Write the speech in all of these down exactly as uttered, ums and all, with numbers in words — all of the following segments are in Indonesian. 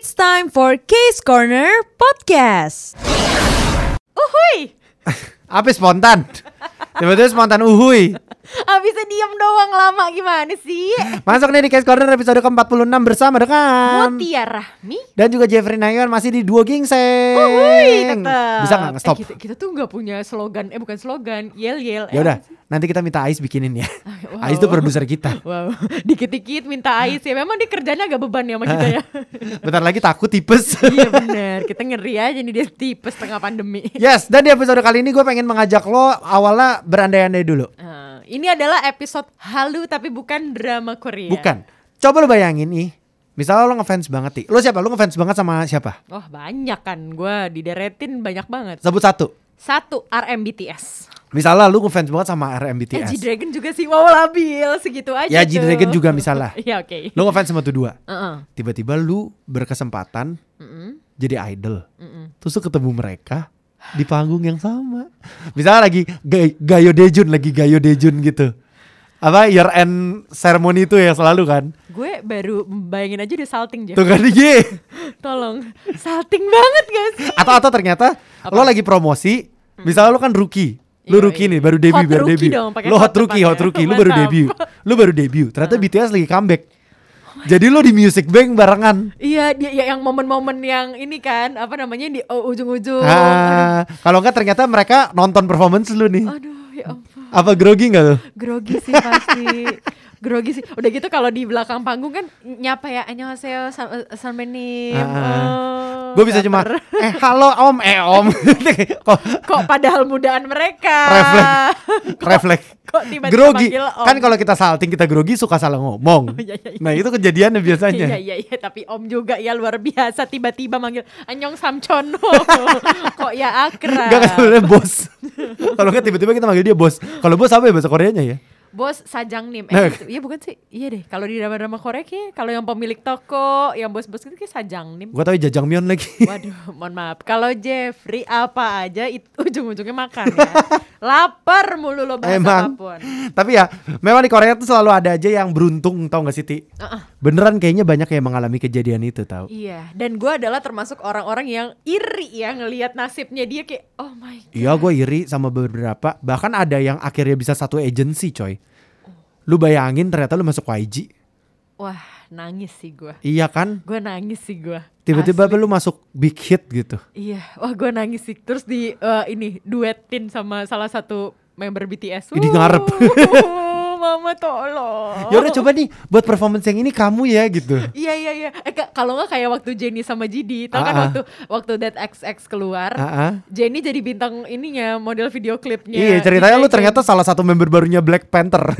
It's time for Case Corner Podcast. Uhuy. Apa spontan? Tiba-tiba spontan uhuy. Abisnya diem doang lama gimana sih? Masuk nih di Case Corner episode ke empat puluh enam bersama dengan Mutia Rahmi dan juga Jeffrey Nayon masih di Duo Gingseng. Uhuy, tetep. Bisa gak nge-stop? Eh, kita, kita tuh gak punya slogan. Eh bukan slogan, yel-yel. Ya udah, nanti kita minta Ais bikinin ya. Wow. Ais tuh produser kita. Wow, dikit-dikit minta Ais ya. Memang dia kerjanya agak beban ya sama kita ya. Bentar lagi takut tipes. Iya benar, kita ngeri aja nih dia tipes tengah pandemi. Yes, dan di episode kali ini gue pengen mengajak lo awalnya berandai-andai dulu. Uh, ini adalah episode halu tapi bukan drama Korea. Bukan. Coba lo bayangin nih. Misalnya lo ngefans banget nih. Lo siapa? Lo ngefans banget sama siapa? Oh banyak kan, gue dideretin banyak banget. Sebut satu. Satu, R M B T S. Misalnya lu ngefans banget sama R M B T S. Eh, G-Dragon juga sih, wow labil segitu aja Ya tuh. G-Dragon juga misalnya. Iya oke. Lu ngefans sama tuh dua. Uh-uh. Tiba-tiba lu berkesempatan Uh-uh. jadi idol. Uh-uh. Terus lu ketemu mereka di panggung yang sama. Misalnya lagi gay, Gayo Dejun, lagi Gayo Dejun gitu. Apa year end ceremony itu ya selalu kan. Gue baru bayangin aja dia salting Jeff. Tuh kan dia. Tolong, salting banget gak sih? Atau atau ternyata Apa? lo lagi promosi. Misalnya lo kan rookie. Lu Iya, rookie iya. nih, baru debut, Hot baru rookie debut. dong, pakai Lo hot hot rookie, hot depannya. rookie. Lu baru Mantap. debut. Lu baru debut. Ternyata B T S lagi comeback. Jadi lo di Music Bank barengan. Iya, dia ya, yang momen-momen yang ini kan, apa namanya di oh, ujung-ujung. Ah, kalau enggak ternyata mereka nonton performance lu nih. Aduh, aduh ya ampun. Apa grogi enggak tuh? Grogi sih pasti. Grogi sih. Udah gitu kalau di belakang panggung kan nyapa ya annyeonghaseyo sanmenim. Ah. Gue bisa cuma eh halo om eh om. kok Kok padahal mudaan mereka. refleks refleks Kok tiba-tiba grogi. manggil om. Kan kalau kita salting kita grogi suka salah ngomong. Iya, iya, iya. Nah, itu kejadiannya biasanya. Iya iya iya tapi om juga ya luar biasa tiba-tiba manggil Annyeong Samcheon. Kok ya akrab. Enggak kan sebenarnya bos. Kalau enggak tiba-tiba kita manggil dia bos. Kalau bos apa ya bahasa Koreanya ya? Bos Sajangnim. Nah. Eh, gitu. Iya bukan sih? Iya deh. Kalau di drama-drama Korea kayak kalau yang pemilik toko, yang bos-bos itu kayak Sajangnim. Gua tahu Jajangmyeon lagi. Waduh, mohon maaf. Kalau Jeffrey apa aja itu ujung-ujungnya makan ya. Lapar mulu lo bahasa Emang. apapun. Tapi ya, memang di Korea tuh selalu ada aja yang beruntung, tau gak sih Ti? Uh-uh. Beneran kayaknya banyak yang mengalami kejadian itu tau. Iya, dan gue adalah termasuk orang-orang yang iri ya ngelihat nasibnya dia kayak oh my god. Iya, gue iri sama beberapa. Bahkan ada yang akhirnya bisa satu agency coy. Lu bayangin ternyata lu masuk Y G. Wah, nangis sih gue. Iya kan? Gue nangis sih gue. Tiba-tiba Asli. lu masuk big hit gitu. Iya, wah gue nangis sih. Terus di eh, ini duetin sama salah satu member B T S. Ini ngarep. Mama tolong. Ya udah coba nih buat performance yang ini kamu ya gitu. Iya iya iya. Eh ka- kalau nggak kayak waktu Jennie sama Jidi, tau kan Ah, ah. waktu waktu That X X keluar, Ah, ah. Jennie jadi bintang ininya, model video klipnya. Iya ceritanya lu G-Dragon. ternyata salah satu member barunya Black Panther.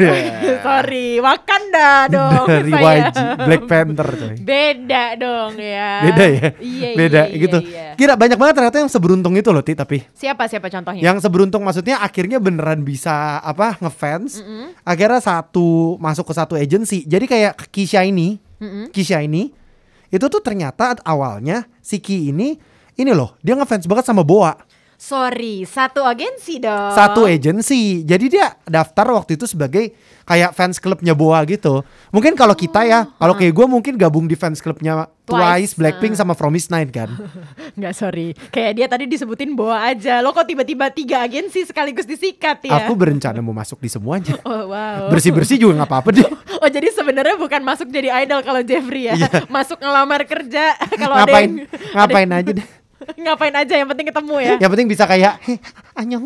Sorry, Wakanda dong. Dari saya. Y G Black Panther coy. Beda dong ya. Beda ya? Iya Beda iya, gitu. iya, iya. Kira banyak banget ternyata yang seberuntung itu loh Ti tapi. Siapa siapa contohnya? Yang seberuntung maksudnya akhirnya beneran bisa apa ngefans. Akhirnya satu masuk ke satu agency. Jadi kayak Kisha ini, Mm-mm. Kisha ini itu tuh ternyata awalnya si Ki ini ini loh, dia ngefans banget sama Boa. Sorry, satu agensi dong. Satu agency. Jadi dia daftar waktu itu sebagai kayak fans clubnya Boa gitu. Mungkin kalau kita ya, kalau kayak gue mungkin gabung di fans clubnya Twice, Twice, Blackpink uh. sama Promise Nine kan. Nggak sorry, kayak dia tadi disebutin Boa aja. Lo kok tiba-tiba tiga agensi sekaligus disikat ya? Aku berencana mau masuk di semuanya. Oh wow. Bersih-bersih juga nggak apa-apa deh. Oh jadi sebenarnya bukan masuk jadi idol kalau Jeffrey ya, Iya. masuk ngelamar kerja kalau ada Ngapain yang, ngapain ada- aja deh. ngapain aja yang penting ketemu ya. Yang penting bisa kayak heh anyong.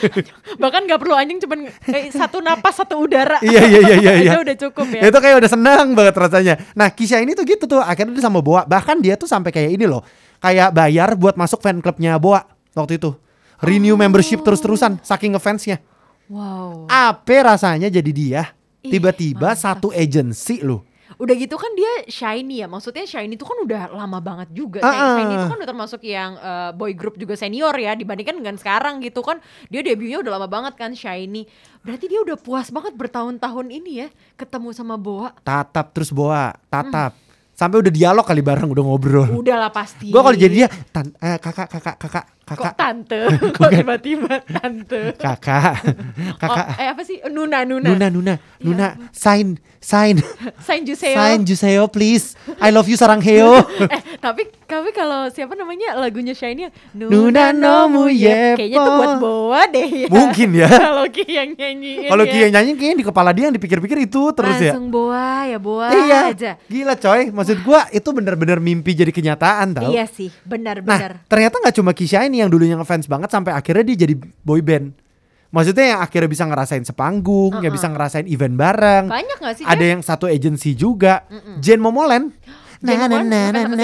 Bahkan nggak perlu anjing cuman eh, satu napas satu udara. Iya iya iya iya. iya. Aja udah cukup ya. Itu kayak udah senang banget rasanya. Nah Kisha ini tuh gitu tuh akhirnya dia sama Boa. Bahkan dia tuh sampai kayak ini loh, kayak bayar buat masuk fan clubnya Boa waktu itu. Renew membership terus-terusan saking ngefansnya. Wow. Apa rasanya jadi dia Ih, tiba-tiba mantap. satu agency loh. Udah gitu kan dia Shiny ya. Maksudnya Shiny itu kan udah lama banget juga. Ah, ah. Shiny itu kan udah termasuk yang eh, boy group juga senior ya. Dibandingkan dengan sekarang gitu kan. Dia debutnya udah lama banget kan Shiny. Berarti dia udah puas banget bertahun-tahun ini ya. Ketemu sama Boa. Tatap terus Boa, tatap. Sampai udah dialog kali bareng, udah ngobrol. Udah lah pasti. Gue kalau jadi dia, tan, eh, kakak, kakak, kakak, Kok kakak, tante? Kok tiba-tiba tante? kakak, kakak, Oh, eh apa sih? Nuna, Nuna. Nuna, Nuna, Nuna, sign, sign, Sain Juseo. sign Juseo please. I love you sarang heo. Eh, Tapi tapi kalau siapa namanya lagunya Shiny yang Nuna no mu yepo. kayaknya tuh buat Boa deh ya. Mungkin ya. Kalau Ki yang nyanyiin Kalau ya. Ki yang nyanyi kayaknya di kepala dia yang dipikir-pikir itu terus ya. Langsung Boa ya Boa Iya. aja. Gila coy. Maksud gua itu bener-bener mimpi jadi kenyataan tau. Iya sih, benar-benar. Nah ternyata gak cuma Kisha ini yang dulunya ngefans banget sampai akhirnya dia jadi boy band. Maksudnya yang akhirnya bisa ngerasain sepanggung, Uh-uh. yang bisa ngerasain event bareng. Banyak gak sih? Ada Jeff? yang satu agency juga. Jen Momoland. Jen Momoland ngefans sama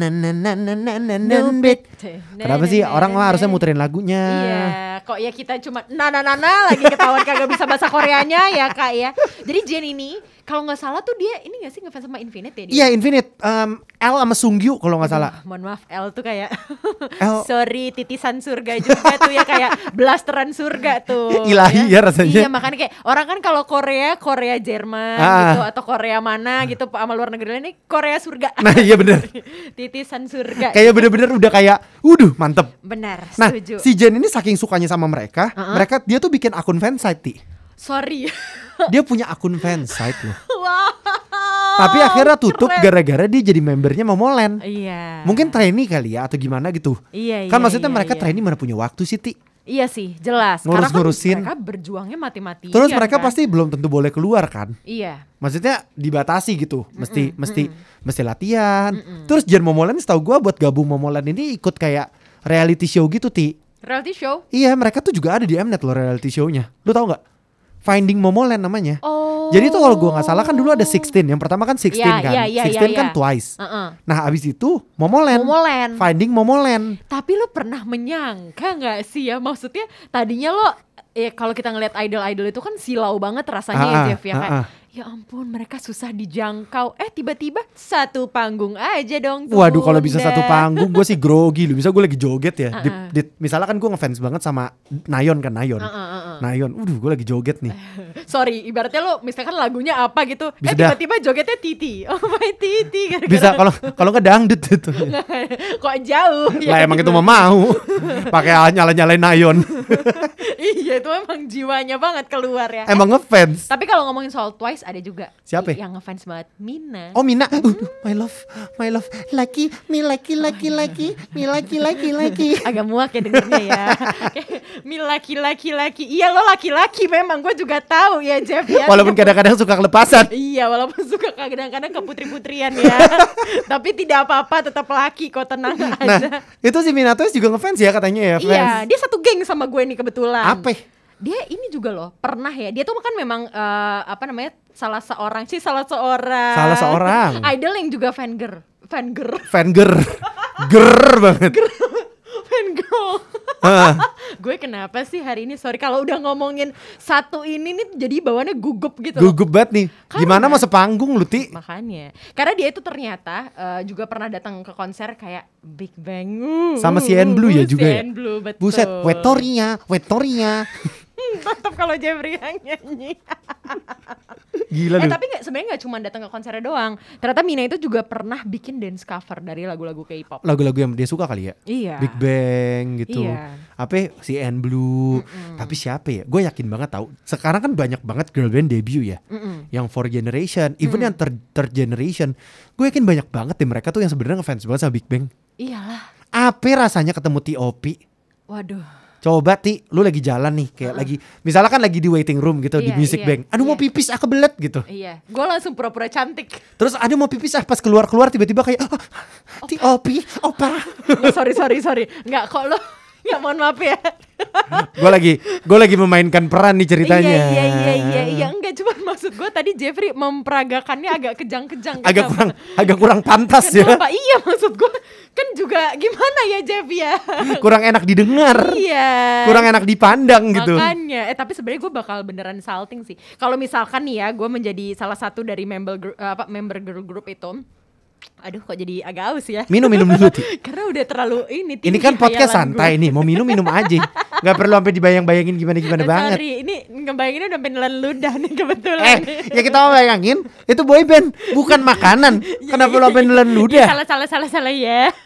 siapa? Nubit. Kenapa sih orang mah harusnya muterin lagunya? Iya, kok ya kita cuma nana-nana lagi ketahuan kagak bisa bahasa Koreanya ya kak ya. Jadi Jen ini kalau nggak salah tuh dia ini nggak sih ngefans sama Infinite ya dia? Iya Infinite, um, L sama Sungkyu kalau nggak salah. Aduh, mohon maaf, L tuh kayak L- sorry titisan surga juga tuh ya kayak blasteran surga tuh. Ilahi ya rasanya. Iya makanya kayak orang kan kalau Korea Korea Jerman Ah. gitu atau Korea mana gitu sama luar negeri lain ini Korea surga. Nah iya bener. Titisan surga. Kayak bener-bener udah kayak, uduh mantep. Benar, Nah setuju. si Jen ini saking sukanya sama mereka, Uh-uh. mereka dia tuh bikin akun fansite. Ti. Sorry. Dia punya akun fansite loh. Wow. Tapi akhirnya tutup keren. gara-gara dia jadi membernya Momoland. Iya. Mungkin trainee kali ya atau gimana gitu. Iya, Kan iya, maksudnya iya, mereka iya. trainee mana punya waktu sih Ti. Iya sih, jelas. Ngurus-ngurusin. Karena kan mereka berjuangnya mati-matian. Terus mereka kan? pasti belum tentu boleh keluar kan. Iya. Maksudnya dibatasi gitu. Mesti mesti mesti latihan. Terus Jen Momoland setahu gua buat gabung Momoland ini ikut kayak reality show gitu Ti. Reality show. Iya mereka tuh juga ada di Mnet loh reality show-nya. Lu tahu nggak? Finding Momoland namanya. Oh. Jadi tuh kalau gua nggak salah kan dulu ada sixteen. Yang pertama kan sixteen Iya, kan. iya, iya, sixteen iya, kan iya. Twice. Uh-uh. Nah abis itu Momoland. Momoland. Finding Momoland. Tapi lo pernah menyangka nggak sih ya? Maksudnya tadinya lo ya kalau kita ngeliat idol-idol itu kan silau banget rasanya ya Ah, Jeff ya ah, kayak ah. ya ampun mereka susah dijangkau. Eh tiba-tiba satu panggung aja dong. Waduh kalau bisa Bunda. satu panggung gue sih grogi lu. Bisa gue lagi joget ya. Di, Uh-uh. di- misalnya kan gue ngefans banget sama Nayeon kan Nayeon. Uh-uh, uh-uh. Nayeon. Udah gue lagi joget nih. Sorry, ibaratnya lo misalkan lagunya apa gitu, Bisa eh dah. tiba-tiba jogetnya Titi. Oh my Titi. Gara-gara Bisa kalau kalau nggak dangdut gitu. kok jauh. Lah emang itu mah mau. Pakai nyala-nyalain Nayeon. Iya itu emang jiwanya banget keluar ya. Emang ngefans. Tapi kalau ngomongin soal Twice ada juga. Siapa? Yang ngefans banget Mina. Oh Mina, uh, my love, my love, laki, mi laki, laki, laki, mi laki, laki, laki. Agak muak ya dengernya ya. Mi laki-laki laki. Iya lo laki-laki memang gue juga tahu ya Jeff ya. Walaupun kadang-kadang suka kelepasan. Iya walaupun suka kadang-kadang ke putri-putrian ya. Tapi tidak apa-apa tetap laki kok tenang Nah, aja. itu si Minato juga ngefans ya katanya ya, fans. Iya dia satu geng sama gue nih kebetulan. Apa? Dia ini juga loh pernah ya. Dia tuh kan memang eh, apa namanya salah seorang sih salah seorang. Salah seorang. Idol yang juga fan girl. Fan girl. Fan ger, ger banget. Fan girl. Hah. Gue kenapa sih hari ini sorry kalau udah ngomongin satu ini nih jadi bawaannya gugup gitu loh. Gugup banget nih. Gimana mau sepanggung lu Ti? Makanya karena dia itu ternyata eh, juga pernah datang ke konser kayak Big Bang uh, Sama si N Blue ya si juga ya? N Blue, betul. Buset, Wetoria, Wetoria. Tetap kalau Jeffrey yang nyanyi. Gila Eh lu. tapi nggak sebenarnya nggak cuma datang ke konsernya doang. Ternyata Mina itu juga pernah bikin dance cover dari lagu-lagu K-pop. Lagu-lagu yang dia suka kali ya? Iya. Big Bang gitu. Iya. Apa si N Blue. Tapi siapa ya? Gue yakin banget tahu. Sekarang kan banyak banget girl band debut ya. Mm-mm. Yang four generation, even yang third, third generation. Gue yakin banyak banget deh mereka tuh yang sebenarnya ngefans banget sama Big Bang. Iyalah. Apa rasanya ketemu T O P? Waduh. Coba Ti, lu lagi jalan nih kayak lagi misalnya kan lagi di waiting room gitu di Iya, music iya, bank. Aduh mau iya. pipis ah kebelet gitu. Iya. Gue langsung pura-pura cantik. Terus ada mau pipis ah pas keluar-keluar tiba-tiba kayak oh, T O P, opa. Nggak, sorry sorry sorry. Nggak kok lo. Nggak mohon maaf ya. Gue lagi gue lagi memainkan peran nih ceritanya. Iya iya iya iya iya enggak cuma maksud gue tadi Jeffrey memperagakannya agak kejang-kejang. Agak Kenapa? kurang agak kurang pantas ya. Kenapa? Iya maksud gue kan juga gimana ya Jeff ya. Kurang enak didengar. Iya. Kurang enak dipandang gitu. Makanya, eh tapi sebenarnya gue bakal beneran salting sih. Kalau misalkan nih ya, gue menjadi salah satu dari member gru- eh, apa member girl group itu. Aduh, kok jadi agak aus ya. Minum minum dulu Ti. Karena udah terlalu ini. Ini tinggi kan podcast khayalan santai gue. nih, mau minum minum aja. Gak perlu sampai dibayang-bayangin gimana-gimana Eh, banget. Sorry, ini ngebayanginnya udah penelan ludah nih kebetulan. Eh, ya kita mau bayangin itu boy band, bukan makanan. Kenapa lo sampai nelan Iya, ludah? salah salah salah salah ya.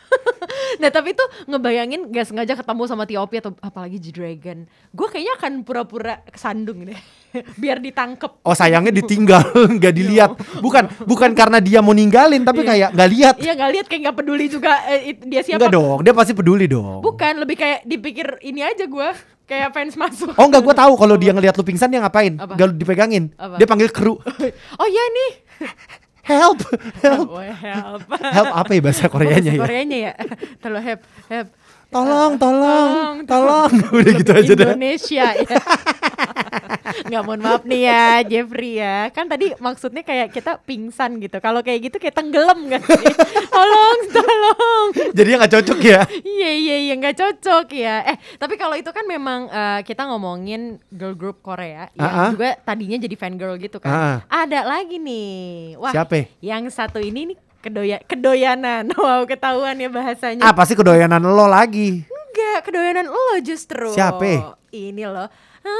Nah tapi tuh ngebayangin gak sengaja ketemu sama T O P atau apalagi G-Dragon, gue kayaknya akan pura-pura kesandung deh biar ditangkep. Oh sayangnya ditinggal, nggak dilihat. Bukan bukan karena dia mau ninggalin, tapi kayak nggak lihat. Iya nggak lihat, kayak nggak peduli juga eh, it- dia siapa. Enggak dong, dia pasti peduli dong. Bukan, lebih kayak dipikir ini aja gue kayak fans masuk. Oh enggak, gue tahu kalau dia ngelihat lu pingsan dia ngapain? Apa? Gak dipegangin. Apa? Dia panggil kru. Oh iya nih. Help, help. Oh, help. Help apa ya bahasa Koreanya ya? Koreanya ya. Tolong help, help. Tolong, Eh, tolong, tolong. Udah gitu aja dah. Indonesia ya. Nggak, mohon maaf nih ya Jeffrey ya. Kan tadi maksudnya kayak kita pingsan gitu. Kalau kayak gitu kayak tenggelam kan sih. Tolong, tolong. Jadi nggak cocok ya? Iya iya iya nggak cocok ya. Eh tapi kalau itu kan memang eh, kita ngomongin girl group Korea yang Ah, ah. juga tadinya jadi fan girl gitu kan. Ah, Ada lagi nih. Wah. Siapa? Yang satu ini nih kedoya kedoyanan. Wow, ketahuan ya bahasanya. Ah pasti kedoyanan lo lagi. Enggak, kedoyanan lo justru. Siapa? Ini loh.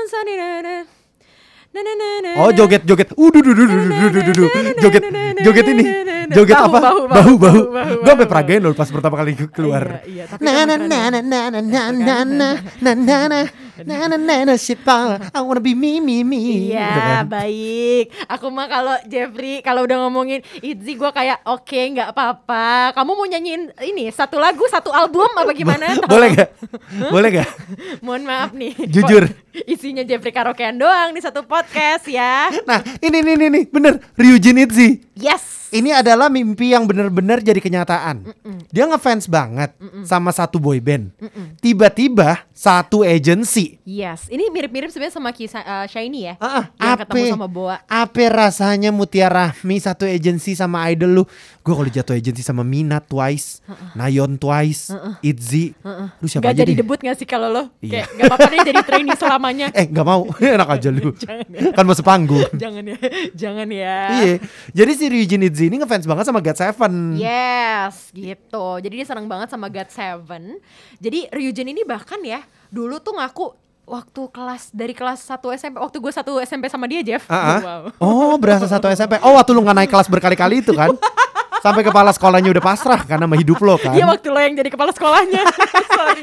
Oh joget joget. Uduh duh duh duh duh duh duh duh. Joget joget ini. Joget Bahu, apa? bahu, Bahu bahu, bahu. bahu, Gue sampai bahu. peragain loh pas pertama kali keluar. Iya, iya, tapi Na kan na keren na ya. na na na na na na na na na na na na na sipa I wanna be me me me. Gitu Iya kan. baik. Aku mah kalau Jeffrey kalau udah ngomongin Itzy gue kayak oke nggak apa-apa. Kamu mau nyanyiin ini satu lagu satu album apa gimana? Boleh gak? Boleh gak? Mohon maaf nih. Jujur. Kok isinya Jeffrey karaokean doang di satu podcast ya. Nah ini nih nih nih bener Ryujin Itzy. Yes. Ini adalah mimpi yang benar-benar jadi kenyataan. Dia ngefans banget sama satu boy band. Tiba-tiba satu agency. Yes. Ini mirip-mirip sebenarnya sama kisah eh, Shiny ya. Ah, ah, Yang ketemu ape, sama Boa. ape rasanya Mutiara Rahmi satu agency sama idol lu. Gue kalau jatuh agency sama Mina Twice, Nayeon Twice, Itzy. Lu siapa Gak aja jadi deh? debut gak sih kalau lo? Iya. Kayak gak apa-apa deh jadi trainee selamanya. Eh gak mau, enak aja lu. Jangan ya. Kan mau sepanggung. Jangan ya. Jangan ya. Iya, jadi si Ryujin Itzy ini ngefans banget sama God Seven. Yes, gitu. Jadi dia senang banget sama God Seven. Jadi Ryujin ini bahkan ya dulu tuh ngaku waktu kelas dari kelas satu S M P, waktu gue satu S M P sama dia Jeff. Ah, ah. Wow. Oh berasa satu S M P. Oh waktu lu gak naik kelas berkali-kali itu kan? Sampai kepala sekolahnya udah pasrah kan sama hidup lo kan? Iya waktu lo yang jadi kepala sekolahnya. Sorry.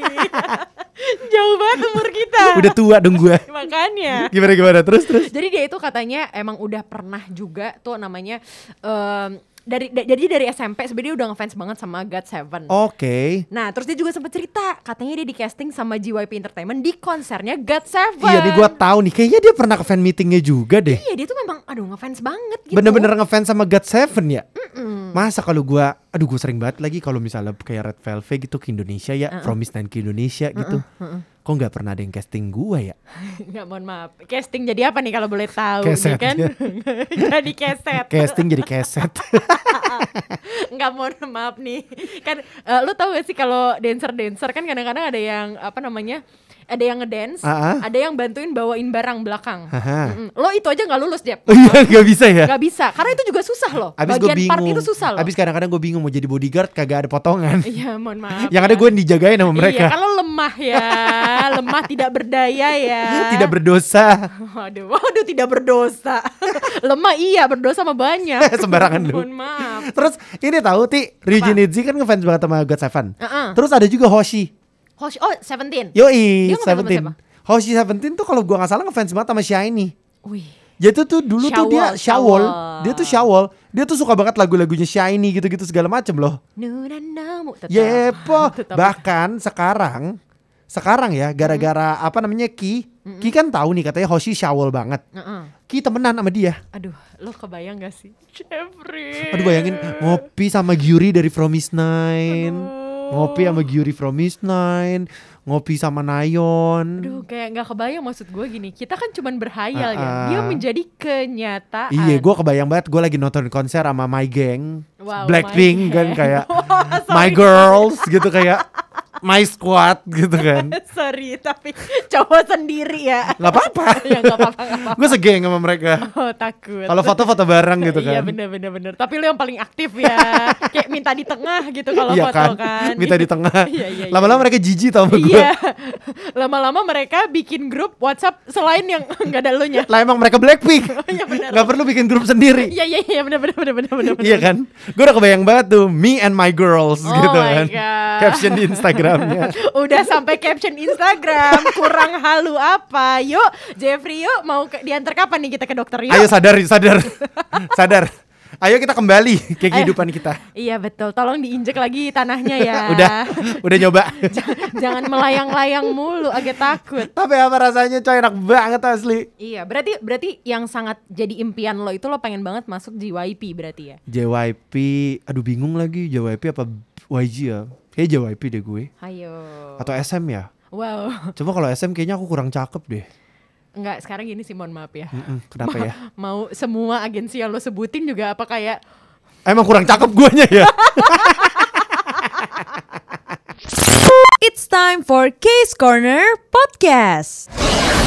Jauh banget umur kita. Udah tua dong gue. Makanya. Gimana gimana terus terus. Jadi dia itu katanya emang udah pernah juga tuh namanya em, dari da- jadi dari S M P sebenarnya dia udah ngefans banget sama God Seven. Oke. Nah terus dia juga sempat cerita katanya dia di casting sama J Y P Entertainment di konsernya God Seven. Iya nih gue tahu nih. Kayaknya dia pernah ke fan meetingnya juga deh. Iya dia tuh memang aduh ngefans banget gitu. Bener-bener ngefans sama God Seven ya. Masa kalau gue, aduh gue sering banget lagi kalau misalnya kayak Red Velvet gitu ke Indonesia ya, Promise Nine ke Indonesia gitu. Kok nggak pernah ada yang casting gue ya? Nggak, mohon maaf. Casting jadi apa nih kalau boleh tahu? Keset, nih kan? ya. Jadi keset. Casting jadi keset. Nggak, mohon maaf nih. Kan eh, lu tahu gak sih kalau dancer-dancer kan kadang-kadang ada yang apa namanya? Ada yang ngedance, Ah, ah. ada yang bantuin bawain barang belakang. Haha. Mm-mm. Lo itu aja nggak lulus, Jep. Oh iya nggak bisa ya? Nggak bisa, karena itu juga susah loh. Abis gue Bagian part bingung. itu susah loh. Abis kadang-kadang gue bingung mau jadi bodyguard kagak ada potongan. Iya, mohon maaf. Yang ada ya. gue dijagain sama mereka. Iya, kalau lemah ya, lemah tidak berdaya ya. Tidak berdosa. Waduh, waduh tidak berdosa. Lemah iya, berdosa sama banyak. Sembarangan lu. Mohon maaf. Terus ini tahu Ti, Ryujin Itzy kan ngefans banget sama God Seven. Uh-uh. Terus ada juga Hoshi. Hoshi, oh Seventeen. Yoi, Dia ngefans sama Seventeen. siapa? Hoshi Seventeen tuh kalau gua nggak salah ngefans banget sama Shiny. Wih. Jadi tuh dulu tuh dia Syawal, Syawal, Syawal. dia tuh Syawal, dia tuh suka banget lagu-lagunya Shiny gitu-gitu segala macem loh. Nunanamu tetap. Yepo, Tetap. bahkan sekarang, sekarang ya gara-gara apa namanya Ki, Ki kan tahu nih katanya Hoshi Syawal banget. Uh-uh. Ki temenan sama dia. Aduh, lo kebayang gak sih? Jeffrey. Aduh bayangin ngopi sama Gyuri dari Promise Nine, ngopi sama Gyuri Promise Nine, ngopi sama Nayeon. Aduh, kayak gak kebayang maksud gue gini. Kita kan cuman berhayal ya. Uh-uh. Dia menjadi kenyataan. Iya, gue kebayang banget gue lagi nonton konser sama My Gang, Wow, Blackpink My kan Gang. kayak Wah, My sorry. Girls gitu kayak my squad gitu kan. Sorry, tapi cowok sendiri ya. Gak apa-apa. Ya gak apa-apa, gak apa-apa. Gue segeng sama mereka. Oh, takut. Kalau foto-foto bareng gitu kan. Iya bener-bener bener. Tapi lu yang paling aktif ya. Kayak minta di tengah gitu kalau Iya foto kan? kan. Minta di tengah. Iya, iya, iya. Lama-lama mereka jijik tau sama gue. Iya. Lama-lama mereka bikin grup WhatsApp selain yang nggak ada lu nya. Lah emang mereka Blackpink. Iya bener. Gak perlu bikin grup sendiri. Iya iya iya bener bener bener bener bener. Iya kan? Gue udah kebayang banget tuh me and my girls Oh gitu my kan. God. Caption di Instagramnya. Udah sampai caption Instagram. Kurang halu apa? Yuk Jeffrey yuk mau ke, diantar kapan nih kita ke dokter yuk. Ayo sadar, sadar. Sadar. Ayo kita kembali ke kehidupan kita. Iya betul. Tolong diinjek lagi tanahnya ya. Udah, udah nyoba. Jangan melayang-layang mulu, agak takut. Tapi apa rasanya coy, enak banget asli. Iya, berarti berarti yang sangat jadi impian lo itu lo pengen banget masuk J Y P berarti ya? J Y P, aduh bingung lagi J Y P apa Y G ya? Kayak J Y P deh gue. Ayo. Atau S M ya? Wow. Coba kalau S M kayaknya aku kurang cakep deh. Enggak, sekarang gini sih mohon maaf ya. Mm-mm, kenapa ya? Mau semua agensi yang lo sebutin juga apa kayak Emang kurang cakep guanya ya? It's time for Case Corner Podcast.